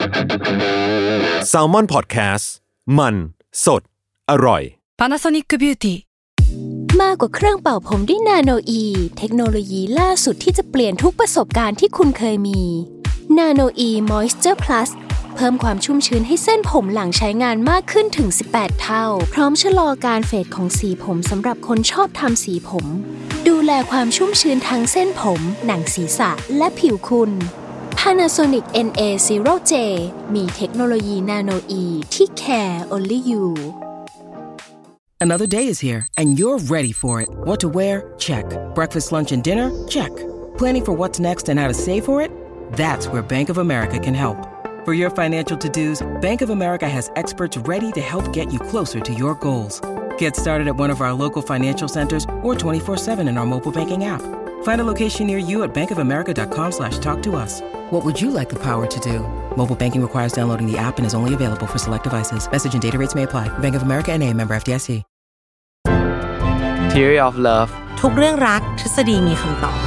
Salmon Podcast มันสดอร่อย Panasonic Beauty มากกว่าเครื่องเป่าผมด้วยนาโนอีเทคโนโลยีล่าสุดที่จะเปลี่ยนทุกประสบการณ์ที่คุณเคยมีนาโนอีมอยส์เจอร์พลัสเพิ่มความชุ่มชื้นให้เส้นผมหลังใช้งานมากขึ้นถึง18เท่าพร้อมชะลอการเฟดของสีผมสำหรับคนชอบทำสีผมดูแลความชุ่มชื้นทั้งเส้นผมหนังศีรษะและผิวคุณ Panasonic NA0J มีเทคโนโลยีนาโนอีที่ care only you Another day is here, and you're ready for it. What to wear? Check. Breakfast, lunch, and dinner? Check. Planning for what's next and how to save for it? That's where Bank of America can help. For your financial to-dos, Bank of America has experts ready to help get you closer to your goals. Get started at one of our local financial centers or 24/7 in our mobile banking app. Find a location near you at bankofamerica.com/talktous. What would you like the power to do? Mobile banking requires downloading the app and is only available for select devices. Message and data rates may apply. Bank of America NA, member FDIC. Theory of Love ทุกเรื่องรักทฤษฎีมีคำตอบ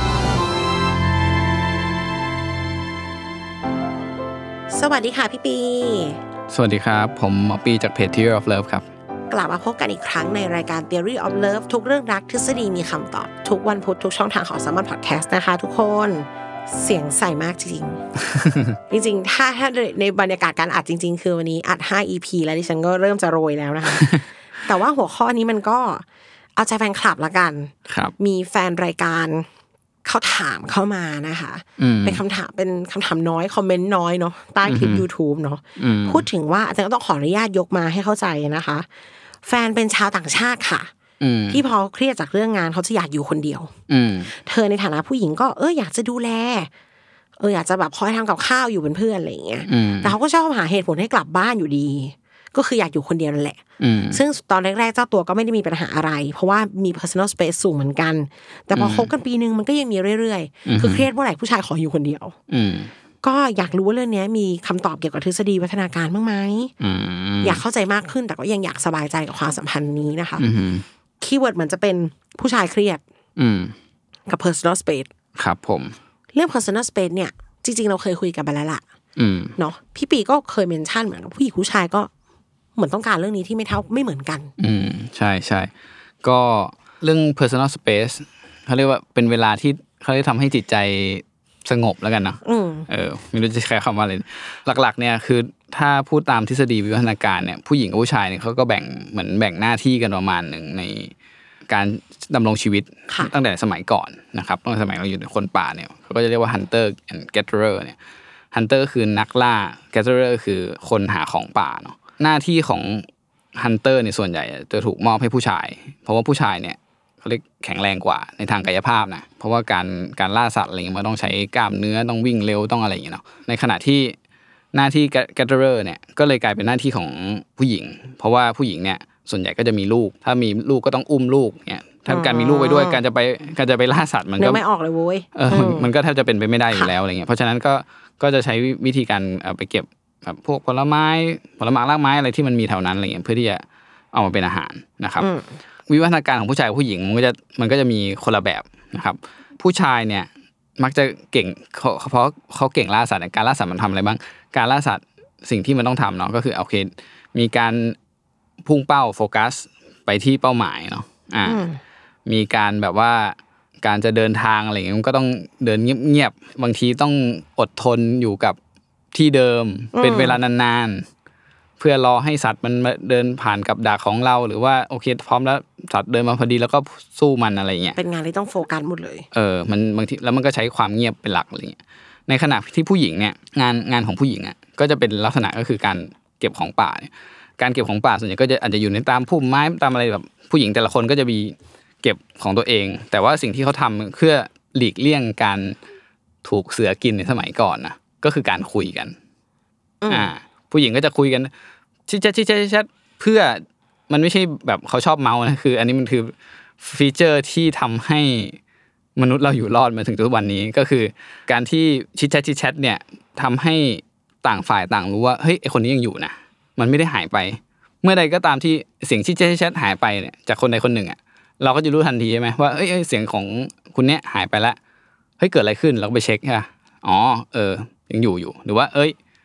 สวัสดีค่ะพี่ปีสวัสดีครับผมหมอปีจากเพจ Theory of Love ครับกลับมาพบกันอีกครั้งในรายการ Theory of Love ทุกเรื่องรักทฤษฎีมีคำตอบทุกวันพุธทุกช่องทางของ Salmon Podcast นะคะทุกคนเสียงใสมากจริงๆ จริงๆถ้าในบรรยากาศการอัดจริงๆคือวันนี้อัด5 EP แล้วดิฉันก็เริ่มจะโรยแล้วนะคะ แต่ว่าหัวข้อนี้มันก็เอาใจแฟนคลับละกันมีแฟนรายการเขาถามเข้ามานะคะเป็นคำถามน้อยคอมเมนต์น้อยเนาะใต้คลิป YouTube เนาะพูดถึงว่าอาจารย์ก็ต้องขออนุญาตยกมาให้เข้าใจนะคะแฟนเป็นชาวต่างชาติค่ะที่พอเครียดจากเรื่องงานเขาจะอยากอยู่คนเดียวเธอในฐานะผู้หญิงก็อยากจะดูแลอยากจะแบบคอยทำกับข้าวอยู่เป็นเพื่อนอะไรอย่างเงี้ยแต่เขาก็ชอบหาเหตุผลให้กลับบ้านอยู่ดีก็คืออยากอยู่คนเดียวนั่นแหละซึ่งตอนแรกๆเจ้าตัวก็ไม่ได้มีปัญหาอะไรเพราะว่ามี personal space สูงเหมือนกันแต่พอคบกันปีนึงมันก็ยังมีเรื่อยๆคือเครียดเมื่อไหร่ผู้ชายขออยู่คนเดียวก็อยากรู้ว่าเรื่องนี้มีคำตอบเกี่ยวกับทฤษฎีวัฒนาการบ้างไหมอยากเข้าใจมากขึ้นแต่ก็ยังอยากสบายใจกับความสัมพันธ์นี้นะคะคีย์เวิร์ดมันจะเป็นผู้ชายเครียดกับ personal space ครับผมเรื่อง personal space เนี่ยจริงๆเราเคยคุยกันไปแล้วล่ะเนาะพี่ปีก็เคยเมนชั่นเหมือนกับผู้หญิงผู้ชายก็เหมือนต้องการเรื่องนี้ที่ไม่เหมือนกันใช่ๆก็เรื่อง personal space เขาเรียกว่าเป็นเวลาที่เขาได้ทำให้จิตใจสงบแล้วกันเนาะไม่รู้จะใช้คำว่าอะไรหลักๆเนี่ยคือถ้าพูดตามทฤษฎีวิวัฒนาการเนี่ยผู้หญิงกับผู้ชายเนี่ยเขาก็แบ่งหน้าที่กันประมาณนึงในการดำรงชีวิตตั้งแต่สมัยก่อนนะครับตั้งแต่สมัยเราอยู่ในคนป่าเนี่ยเขาก็จะเรียกว่า hunter and gatherer เนี่ย hunter คือนักล่า gatherer คือคนหาของป่าเนาะหน้าที่ของ hunter เนี่ยส่วนใหญ่จะถูกมอบให้ผู้ชายเพราะว่าผู้ชายเนี่ยเขาเรียกแข็งแรงกว่าในทางกายภาพนะเพราะว่าการล่าสัตว์อะไรเงี้ยมันต้องใช้กล้ามเนื้อต้องวิ่งเร็วต้องอะไรอย่างเงี้ยเนาะในขณะที่หน้าที่ gatherer เนี่ยก็เลยกลายเป็นหน้าที่ของผู้หญิงเพราะว่าผู้หญิงเนี่ยส่วนใหญ่ก็จะมีลูกถ้ามีลูกก็ต้องอุ้มลูกเนี่ยถ้าการมีลูกไปด้วยการจะไปล่าสัตว์มันก็ไม่ออกเลยโว้ยมันก็แทบจะเป็นไปไม่ได้อยู่แล้วอะไรเงี้ยเพราะฉะนั้นก็จะใช้วิธีการไปเก็บแบบพวกผลไม้รากไม้อะไรที่มันมีแถวนั้นอะไรเงี้ยเพื่อที่จะเอามาเป็นอาหารนะครับวิวัฒนาการของผู้ชายกับผู้หญิงมันก็จะมีคนละแบบนะครับผู้ชายเนี่ยมักจะเก่งเพราะเขาเก่งล่าสัตว์การล่าสัตว์มันทำอะไรบ้างการล่าสัตว์สิ่งที่มันต้องทำเนาะก็คือโอเคมีการพุ่งเป้าโฟกัสไปที่เป้าหมายเนาะมีการแบบว่าการจะเดินทางอะไรอย่างเงี้ยมันก็ต้องเดินเงียบๆบางทีต้องอดทนอยู่กับที่เดิมเป็นเวลานานๆเพื่อรอให้สัตว์มันมาเดินผ่านกับดักของเราหรือว่าโอเคพร้อมแล้วสัตว์เดินมาพอดีแล้วก็สู้มันอะไรเงี้ยเป็นงานที่ต้องโฟกัสหมดเลยมันบางทีแล้วมันก็ใช้ความเงียบเป็นหลักอะไรเงี้ยในขณะที่ผู้หญิงเนี่ยงานของผู้หญิงอ่ะก็จะเป็นลักษณะก็คือการเก็บของป่าเนี่ยการเก็บของป่าส่วนใหญ่ก็จะอาจจะอยู่ในตามพุ่มไม้ตามอะไรแบบผู้หญิงแต่ละคนก็จะมีเก็บของตัวเองแต่ว่าสิ่งที่เขาทำเพื่อหลีกเลี่ยงการถูกเสือกินในสมัยก่อนนะก็คือการคุยกันผู้หญิงก็จะคุยกันชิดเพื่อมันไม่ใช่แบบเขาชอบเมานะคืออันนี้มันคือฟีเจอร์ที่ทำให้มนุษย์เราอยู่รอดมาถึงทุกวันนี้ก็คือการที่ชิดแชทเนี่ยทำให้ต่างฝ่ายต่างรู้ว่าเฮ้ยไอคนนี้ยังอยู่นะมันไม่ได้หายไปเมื่อใดก็ตามที่เสียงชิดหายไปเนี่ยจากคนใดคนหนึ่งอ่ะเราก็จะรู้ทันทีใช่ไหมว่าเอ้ยเสียงของคุณเนี้ยหายไปแล้วเฮ้ยเกิดอะไรขึ้นเราก็ไปเช็คค่ะอ๋อยังอยู่หรือว่าเอ้ย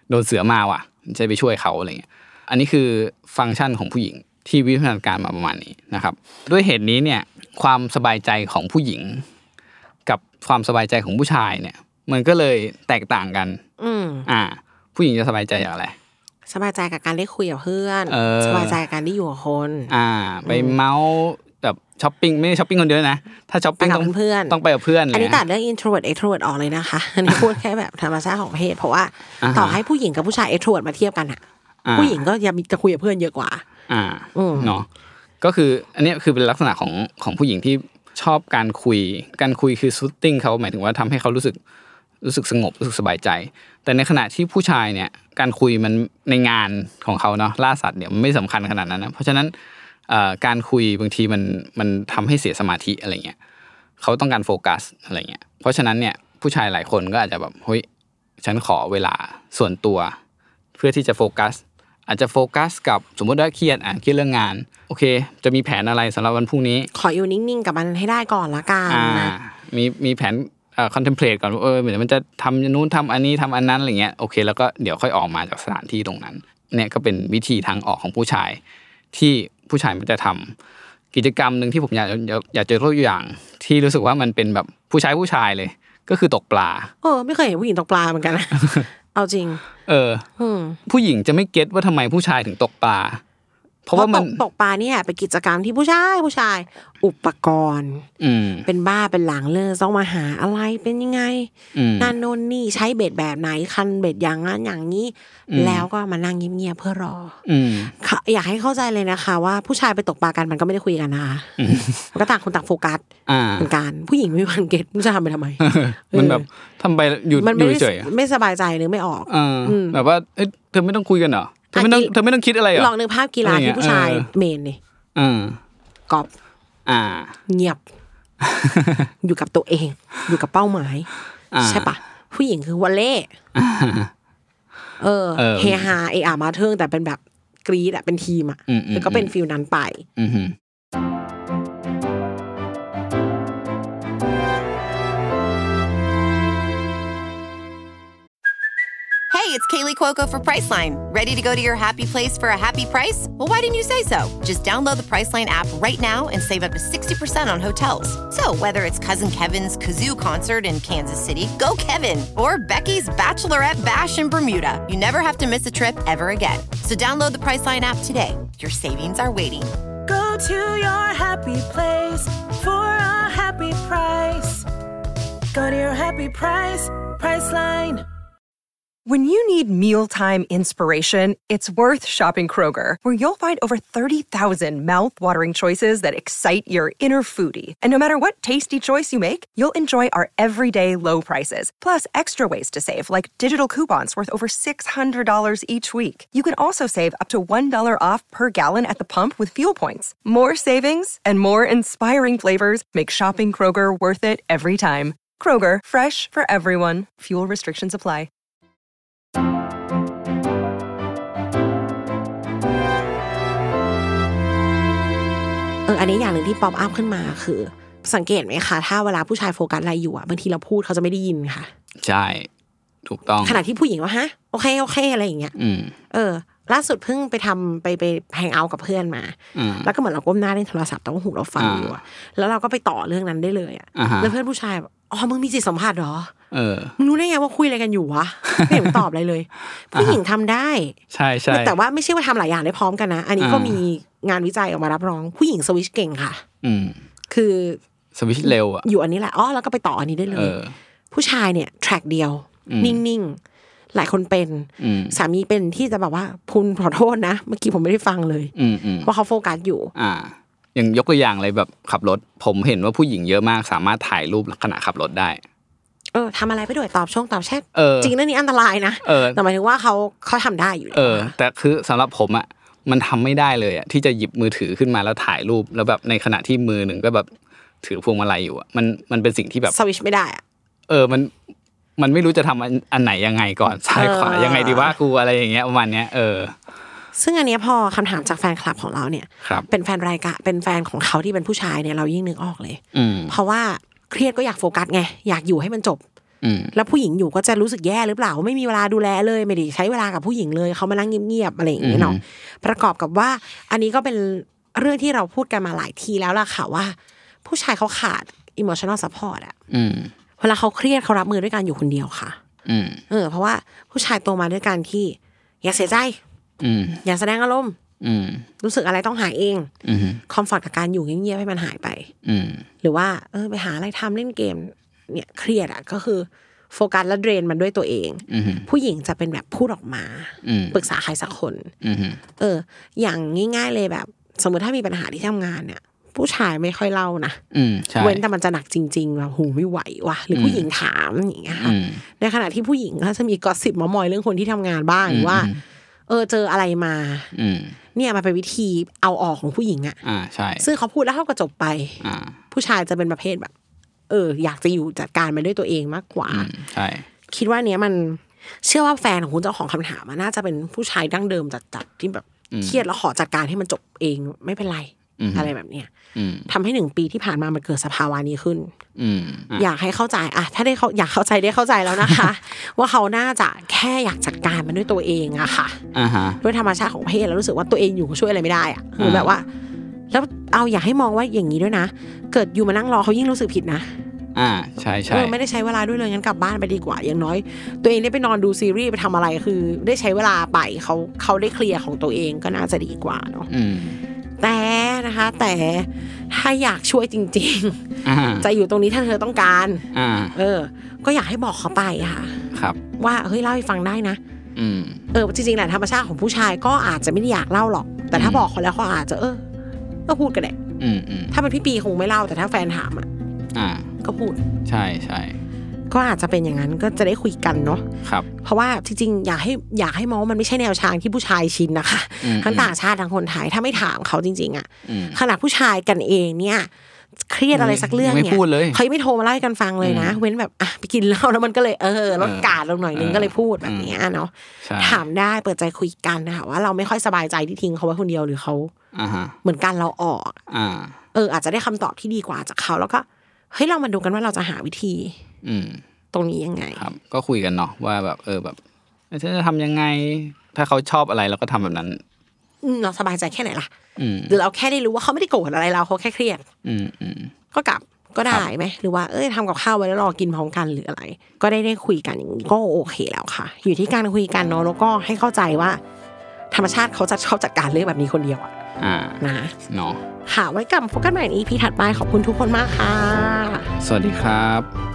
โดนเสือมาว่ะจะไปช่วยเขาอะไรเงี้ยอันนี้คือฟังก์ชันของผู้หญิงที่วิวัฒนาการมาประมาณนี้นะครับด้วยเหตุนี้เนี่ยความสบายใจของผู้หญิงกับความสบายใจของผู้ชายเนี่ยมันก็เลยแตกต่างกันผู้หญิงจะสบายใจอย่างไรสบายใจกับการได้คุยกับเพื่อนสบายใจกับการได้อยู่กับคนไปเมาส์แบบช้อปปิ้งไม่ช้อปปิ้งคนเดียวนะถ้าช้อปปิ้งต้องเพื่อนต้องไปกับเพื่อนอันนี้ตัดเรื่อง introvert extrovert ออกเลยนะคะอันนี้พูดแค่แบบธรรมชาติของเพศเพราะว่าต่อให้ผู้หญิงกับผู้ชาย extrovert มาเทียบกันอ่ะผู้หญิงก็จะคุยกับเพื่อนเยอะกว่าเนาะก็คืออันนี้คือเป็นลักษณะของผู้หญิงที่ชอบการคุยคือ soothing เขาหมายถึงว่าทำให้เขารู้สึกสงบรู้สึกสบายใจแต่ในขณะที่ผู้ชายเนี่ยการคุยมันในงานของเขาเนาะล่าสัตว์เนี่ยมันไม่สำคัญขนาดนั้นนะเพราะฉะนั้นการคุยบางทีมันทำให้เสียสมาธิอะไรเงี้ยเขาต้องการโฟกัสอะไรเงี้ยเพราะฉะนั้นเนี่ยผู้ชายหลายคนก็อาจจะแบบเฮ้ยฉันขอเวลาส่วนตัวเพื่อที่จะโฟกัสอาจจะโฟกัสกับสมมติว่าเครียดเรื่องงานโอเคจะมีแผนอะไรสำหรับวันพรุ่งนี้ขออยู่นิ่งๆกับมันให้ได้ก่อนละกันนะมีแผนcontemplate ก่อนเหมือนมันจะทำนู้นทำอันนี้ทำอันนั้นอะไรเงี้ยโอเคแล้วก็เดี๋ยวค่อยออกมาจากสถานที่ตรงนั้นเนี่ยก็เป็นวิธีทางออกของผู้ชายที่ผู้ชายมันจะทำกิจกรรมนึงที่ผมอยากจะยกตัวอย่างที่รู้สึกว่ามันเป็นแบบผู้ชายเลยก็คือตกปลาไม่เคยเห็นผู้หญิงตกปลาเหมือนกันนะ เอาจริงผู้หญิงจะไม่เก็ตว่าทำไมผู้ชายถึงตกปลาเพราะว่ามันตกปลาเนี่ยเป็นกิจกรรมที่ผู้ชายอุปกรณ์เป็นบ้าเป็นหลังเลยต้องมาหาอะไรเป็นยังไงนั่นโน่นนี่ใช้เบ็ดแบบไหนคันเบ็ดอย่างนั้นอย่างนี้แล้วก็มานั่งเงียบๆเพื่อรออยากให้เข้าใจเลยนะคะว่าผู้ชายไปตกปลากันมันก็ไม่ได้คุยกันนะคะมันก็ต่างคนต่างโฟกัสเหมือนกันผู้หญิงไม่วันเก็ตผู้ชายทำไปทำไมมันแบบทำไปอยู่เฉยไม่สบายใจหรือไม่ออกแบบว่าเธอไม่ต้องคุยกันเหรอเธอไม่ต้องคิดอะไรหรอลองนึกภาพกีฬาที่ผู้ชายเมนดิกอล์ฟเงียบอยู่กับตัวเองอยู่กับเป้าหมายใช่ปะผู้หญิงคือวอลเล่เฮฮามาเทิงแต่เป็นแบบกรี๊ดเป็นทีมแล้วก็เป็นฟีลนั้นไป Hey, it's Kaylee Cuoco for Priceline. Ready to go to your happy place for a happy price? Well, why didn't you say so? Just download the Priceline app right now and save up to 60% on hotels. So whether it's Cousin Kevin's Kazoo Concert in Kansas City, go Kevin, or Becky's Bachelorette Bash in Bermuda, you never have to miss a trip ever again. So download the Priceline app today. Your savings are waiting. Go to your happy place for a happy price. Go to your happy price, Priceline.When you need mealtime inspiration, it's worth shopping Kroger, where you'll find over 30,000 mouth-watering choices that excite your inner foodie. And no matter what tasty choice you make, you'll enjoy our everyday low prices, plus extra ways to save, like digital coupons worth over $600 each week. You can also save up to $1 off per gallon at the pump with fuel points. More savings and more inspiring flavors make shopping Kroger worth it every time. Kroger, fresh for everyone. Fuel restrictions apply. อันนี้อย่างนึงที่ป๊อปอัพขึ้นมาคือสังเกตไหมคะถ้าเวลาผู้ชายโฟกัสอะไรอยู่บางทีเราพูดเขาจะไม่ได้ยินค่ะใช่ถูกต้องขณะที่ผู้หญิงว่าฮะโอเคอะไรอย่างเงี้ยล่าสุดเพิ่งไปทำไปแฮงเอาท์กับเพื่อนมาแล้วก็เหมือนเราก้มหน้าเล่นโทรศัพท์แต่ว่าหูเราฟังอยู่แล้วเราก็ไปต่อเรื่องนั้นได้เลยแล้วเพื่อนผู้ชายแบบมึงมีจิตสัมผัสเหรอมึงรู้ได้ไงว่าคุยอะไรกันอยู่วะไม่เห็นตอบอะไรเลยผู้หญิงทำได้ใช่แต่ว่าไม่ใช่ว่าทำหลายอย่างได้พร้อมกันนะอันนี้ก็มีงานวิจัยออกมารับรองผู้หญิงสวิชเก่งค่ะคือสวิชเร็วอยู่อันนี้แหละแล้วก็ไปต่ออันนี้ได้เลยผู้ชายเนี่ยแทร็กเดียวนิ่งๆหลายคนเป็นสามีเป็นที่จะแบบว่าพูนขอโทษนะเมื่อกี้ผมไม่ได้ฟังเลยเพราะเขาโฟกัสอยู่อย่างยกตัวอย่างเลยแบบขับรถผมเห็นว่าผู้หญิงเยอะมากสามารถถ่ายรูปขณะขับรถได้ทำอะไรไปด้วยตอบแชทจริงเรื่องนี้อันตรายนะแต่หมายถึงว่าเขาทำได้อยู่แต่คือสำหรับผมมันทำไม่ได้เลยที่จะหยิบมือถือขึ้นมาแล้วถ่ายรูปแล้วแบบในขณะที่มือหนึ่งก็แบบถือพวงมาลัยอยู่มันเป็นสิ่งที่แบบสวิชไม่ได้มันไม่รู้จะทำอันไหนยังไงก่อนซ้ายขวายังไงดีว่ากูอะไรอย่างเงี้ยประมาณเนี้ยซึ่งอันนี้พอคำถามจากแฟนคลับของเราเนี่ยเป็นแฟนรายการเป็นแฟนของเขาที่เป็นผู้ชายเนี่ยเรายิ่งนึกออกเลยเพราะว่าเครียดก็อยากโฟกัสไงอยากอยู่ให้มันจบแล้วผู้หญิงอยู่ก็จะรู้สึกแย่หรือเปล่าไม่มีเวลาดูแลเลยไม่ได้ใช้เวลากับผู้หญิงเลยเขามานั่งเงียบๆอะไรอย่างเงี้ยเนาะประกอบกับว่าอันนี้ก็เป็นเรื่องที่เราพูดกันมาหลายทีแล้วล่ะค่ะว่าผู้ชายเขาขาด emotional support อ่ะเวลาเขาเครียดเขารับมือด้วยการอยู่คนเดียวค่ะเพราะว่าผู้ชายโตมาด้วยการที่อย่าเสียใจอย่าแสดงอารมณ์รู้สึกอะไรต้องหายเองคอมฟอร์ตกับการอยู่เงียบๆให้มันหายไปหรือว่าไปหาอะไรทำเล่นเกมเนี่ยเครียดอ่ะก็คือโฟกัสและเดรนมันด้วยตัวเองผู้หญิงจะเป็นแบบพูดออกมาปรึกษาใครสักคนอย่างง่ายๆเลยแบบสมมติถ้ามีปัญหาที่ทำงานเนี่ยผู้ชายไม่ค่อยเล่านะเว้นแต่มันจะหนักจริงๆแบบหูไม่ไหวว่ะหรือผู้หญิงถามอย่างเงี้ยค่ะในขณะที่ผู้หญิงก็จะมีกอสซิปมอยเรื่องคนที่ทำงานบ้างว่าเจออะไรมาเนี่ยมันเป็นวิธีเอาออกของผู้หญิงอ่ะใช่ซึ่งเขาพูดแล้วเขาก็จบไปผู้ชายจะเป็นประเภทแบบอยากจะอยู่จัดการมันด้วยตัวเองมากกว่าใช่คิดว่าเนี้ยมันเชื่อว่าแฟนของคุณเจ้าของคำถามน่าจะเป็นผู้ชายดั้งเดิมจัดๆที่แบบเครียดแล้วขอจัดการให้มันจบเองไม่เป็นไรอะไรแบบเนี้ยทำให้1 ปีที่ผ่านมามันเกิดสภาวะนี้ขึ้นอยากให้เข้าใจถ้าได้เขาอยากเข้าใจได้เข้าใจแล้วนะคะ ว่าเขาน่าจะแค่อยากจัดการมันด้วยตัวเองอะค่ะด้วยธรรมชาติของเพศแล้วรู้สึกว่าตัวเองอยู่ช่วยอะไรไม่ได้อะหรือแบบว่าแล้วเอาอยากให้มองว่าอย่างนี้ด้วยนะเกิดอยู่มานั่งรอเขายิ่งรู้สึกผิดนะใช่ใช่ไม่ได้ใช้เวลาด้วยเลยงั้นกลับบ้านไปดีกว่าอย่างน้อยตัวเองได้ไปนอนดูซีรีส์ไปทำอะไรคือได้ใช้เวลาไปเขาได้เคลียร์ของตัวเองก็น่าจะดีกว่าเนาะแต่นะคะแต่ถ้าอยากช่วยจริงๆจะอยู่ตรงนี้ถ้าเธอต้องการก็อยากให้บอกเขาไปค่ะครับว่าเฮ้ยเล่าให้ฟังได้นะจริงๆแหละธรรมชาติของผู้ชายก็อาจจะไม่ได้อยากเล่าหรอกแต่ถ้าบอกเขาแล้วเขาอาจจะก็พูดกันแหละถ้าเป็นพี่ปีคงไม่เล่าแต่ถ้าแฟนถามก็พูดใช่ใช่ก็อาจจะเป็นอย่างนั้นก็จะได้คุยกันเนาะครับเพราะว่าจริงๆอยากให้มองว่ามันไม่ใช่แนวทางที่ผู้ชายชินนะคะทั้งต่างชาติทั้งคนไทยถ้าไม่ถามเขาจริงๆขนาดผู้ชายกันเองเนี่ยเครียดอะไรสักเรื่องเนี่ยเขาไม่โทรมาเล่าให้กันฟังเลยนะเว้นแบบไปกินเหล้าแล้วมันก็เลยลดกาดลงหน่อยนึงก็เลยพูดแบบนี้เนาะถามได้เปิดใจคุยกันนะคะว่าเราไม่ค่อยสบายใจที่ทิ้งเขาไว้คนเดียวหรือเขาเหมือนกันเราออกอาจจะได้คำตอบที่ดีกว่าจากเขาแล้วก็เฮ้ยเรามาดูกันว่าเราจะหาวิธีตรงนี้ยังไงครับก็คุยกันเนาะว่าแบบแบบจะทำยังไงถ้าเขาชอบอะไรเราก็ทำแบบนั้นเราสบายใจแค่ไหนล่ะหรือเราแค่ได้รู้ว่าเขาไม่ได้โกรธอะไรเราเขาแค่เครียดก็กลับก็ได้ไหมหรือว่าทำกับข้าวไว้แล้วรอกินพร้อมกันหรืออะไรก็ได้คุยกันอย่างนี้ก็โอเคแล้วค่ะอยู่ที่การคุยกันเนาะแล้วก็ให้เข้าใจว่าธรรมชาติเขาจะชอบจัดการเรื่องแบบนี้คนเดียวนะเนาะค่ะไว้กลับพบกันใหม่ใน EP ถัดไปขอบคุณทุกคนมากค่ะสวัสดีครับ